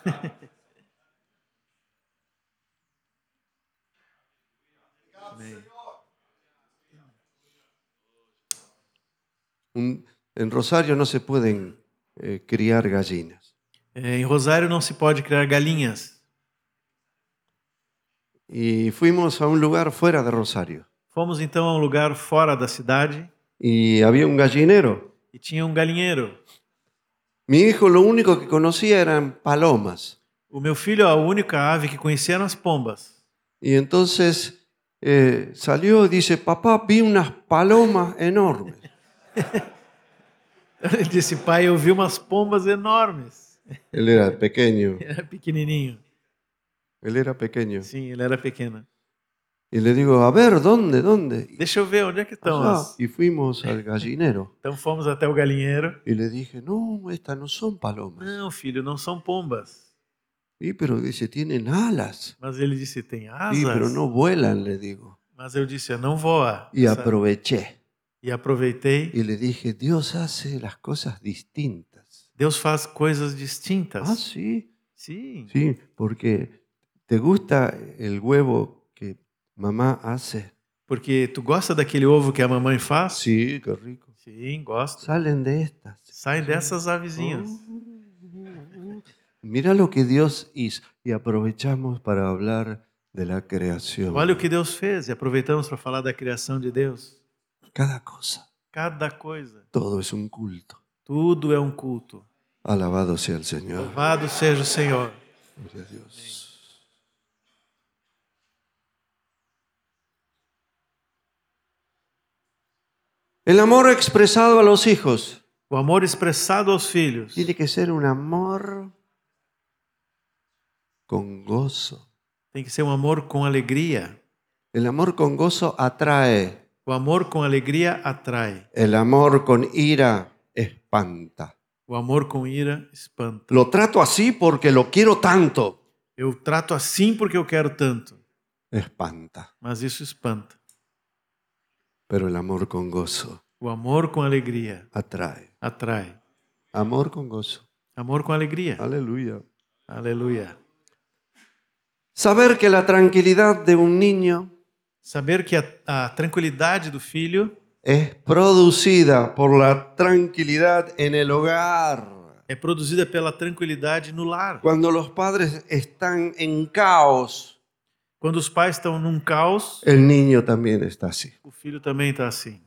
En Rosario no se pueden criar gallinas. Em Rosário não se pode criar galinhas. Y fuimos a un lugar fuera de Rosario. Fomos então a um lugar fora da cidade Y había un gallinero. e tinha um galinheiro. Mi hijo lo único que conocía eran palomas. O meu filho, a única ave que conhecia eram as pombas. Y entonces salió y dice, papá, vi unas palomas enormes. Ele disse: pai, eu vi umas pombas enormes. Él era pequeño. Ele era pequenininho. Él era pequeño. Sim, ele era pequeno. Y le digo, a ver, ¿dónde? Deixa eu ver onde é que estão Allá. as... Y fuimos al gallinero. Então fomos até o galinheiro. Y le dije, no, estas no son palomas. Não, filho, não são pombas. Y pero dice, tienen alas. Mas ele disse: tem asas. Y pero no vuelan, le digo. Mas eu disse: não voa. Y aproveché. E aproveitei. Y le dije, Dios hace las cosas distintas. Deus faz coisas distintas. Ah, sí. Sim. Sí, porque ¿te gusta el huevo que mamá hace? Porque tu gosta daquele ovo que a mamãe faz? Sí, qué rico. Sim, gosto. Salen de estas. Saem dessas avezinhas. Mira lo que Dios hizo. Y aprovechamos para hablar de la creación. Olha o que Deus fez e aproveitamos para falar da criação de Deus. Cada cosa. Cada coisa. Todo es un culto. Tudo é um culto. Alabado sea el Señor. Louvado seja o Senhor. Gloria a Dios. El amor expresado a los hijos O amor expressado aos filhos tiene que ser un amor con gozo. tem que ser um amor com alegria. El amor con gozo atrae. O amor com alegria atrai. El amor con ira espanta. O amor com ira espanta. Lo trato así porque lo quiero tanto. Eu trato assim porque eu quero tanto. Espanta. Mas isso espanta. Pero el amor con gozo O amor com alegria atrae. atrai. Amor con gozo. Amor com alegria. Aleluya. Aleluia. Saber que la tranquilidad de un niño Saber que a tranquilidade do filho es producida por la tranquilidad en el hogar. é produzida pela tranquilidade no lar. Cuando los padres están en caos, Quando os pais estão num caos, el niño también está así. o filho também está assim.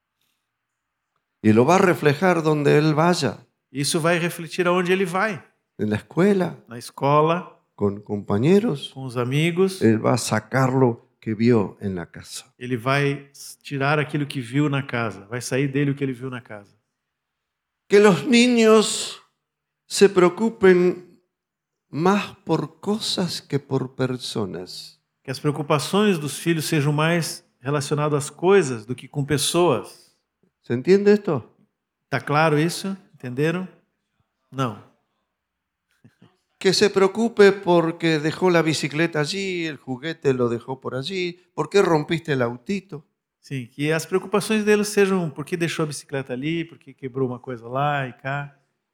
Y lo va a reflejar donde él vaya, Isso vai refletir aonde ele vai. en la escuela, Na escola, con compañeros. com os amigos. Él va a sacar lo que vio en la casa. Ele vai tirar aquilo que viu na casa. Vai sair dele o que ele viu na casa. Que los niños se preocupen más por cosas que por personas. Que as preocupações dos filhos sejam mais relacionadas às coisas do que com pessoas. ¿Se entiende esto? Tá claro isso? Entenderam? Não. Que se preocupe porque dejó la bicicleta allí, el juguete lo dejó por allí, ¿por qué rompiste el autito? Sim, que as preocupações deles sejam por que deixou a bicicleta ali, por que quebrou uma coisa lá e cá.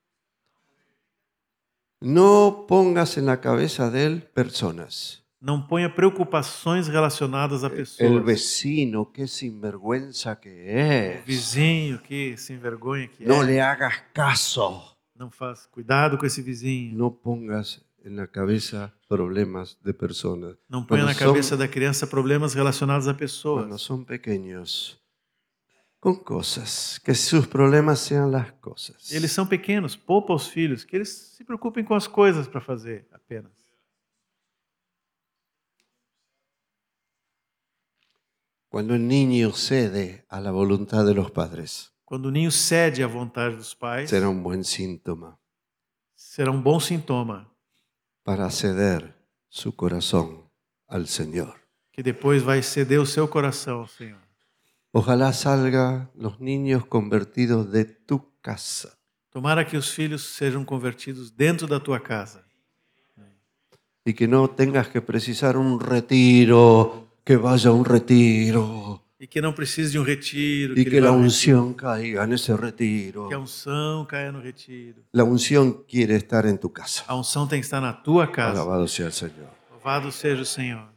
No pongas en la cabeza de él personas. Não ponha preocupações relacionadas a pessoas. El vecino, qué sinvergüenza que O es. vizinho que se envergonha que No é. le hagas caso. Não faz. Cuidado com esse vizinho. No pongas en la cabeza problemas de personas. Não ponha Quando na son- cabeça da criança problemas relacionados a Cuando pessoas. son pequeños, con cosas, que sus problemas sean las cosas. Eles são pequenos, poupa aos filhos, que eles se preocupem com as coisas para fazer apenas. Cuando el niño cede a la voluntad de los padres, Quando o ninho cede à vontade dos pais, será un buen síntoma será um bom sintoma para ceder su corazón al Señor. que depois vai ceder o seu coração ao Senhor. Ojalá salgan los niños convertidos de tu casa Tomara que os filhos sejam convertidos dentro da tua casa. y que no tengas que precisar un retiro, que vaya a un retiro E que não precise de um retiro, y que que ele vá la ao retiro, unción caiga en ese que a retiro. unção caia no retiro. La unción quiere estar en tu casa. A unção tem que estar na tua casa. Alabado sea el Señor. Louvado seja o Senhor.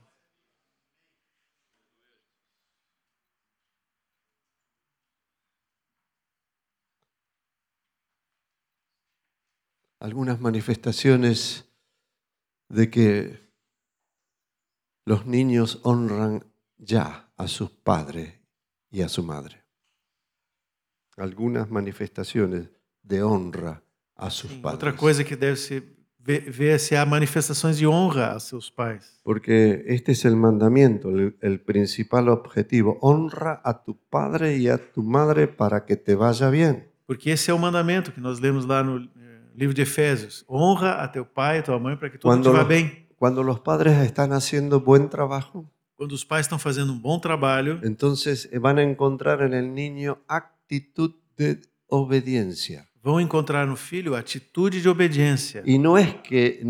Algunas manifestaciones de que los niños honran ya a sus padres y a su madre. Algunas manifestaciones de honra a sus Sim, padres. outra coisa que deve se ver se há manifestações de honra a seus pais. Porque este es el mandamiento, el principal objetivo. Honra a tu padre y a tu madre para que te vaya bien. Porque esse é o mandamento que nós lemos lá no livro de Efésios. Honra a teu pai e a tua mãe para que tudo te vá bem. Cuando los padres están haciendo buen trabajo, Quando os pais estão fazendo um bom trabalho, entonces van a encontrar en el niño actitud de obediencia. vão encontrar no filho a atitude de obediência. Y no es que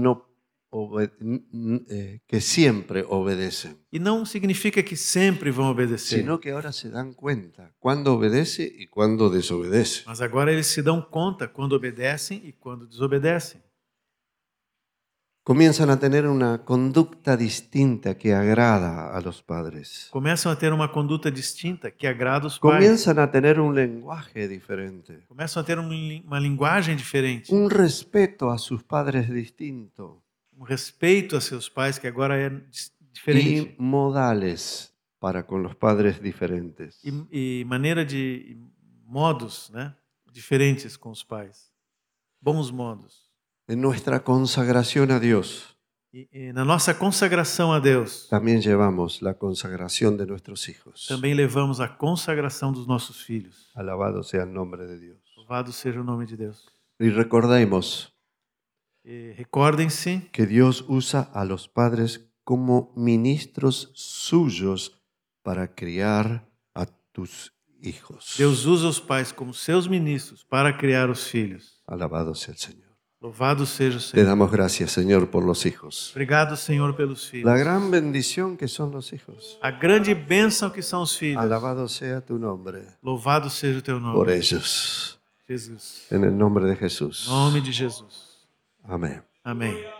que siempre obedecen, E não significa que sempre vão obedecer. sino que ahora se dan cuenta cuándo obedece y cuándo desobedece. Mas agora eles se dão conta quando obedecem e quando desobedecem. Comienzan a tener una conducta distinta que agrada a los padres. Começam a ter uma conduta distinta que agrada os pais. Comienzan a tener un lenguaje diferente, Começam a ter uma linguagem diferente. un respeto a sus padres distinto Um respeito a seus pais que agora é diferente. y modales para con los padres diferentes. E maneira de modos, né, diferentes com os pais. Bons modos. En nuestra consagración a Dios E na nossa consagração a Deus, también llevamos la consagración de nuestros hijos. também levamos a consagração dos nossos filhos. Alabado sea el nombre de Dios. Louvado seja o nome de Deus. Y recordemos E recordem-se que Dios usa a los padres como ministros suyos para criar a tus hijos. Deus usa os pais como seus ministros para criar os filhos. Alabado sea el Señor. Louvado seja o Te Senhor. damos gracias, Señor, por los hijos. Obrigado, Senhor, pelos filhos. La gran bendición que son los hijos. A grande bênção que são os filhos. Alabado sea tu nombre Louvado seja o teu nome. por ellos. Jesus. En el nombre de Jesús. Em nome de Jesus. Amén. Amém.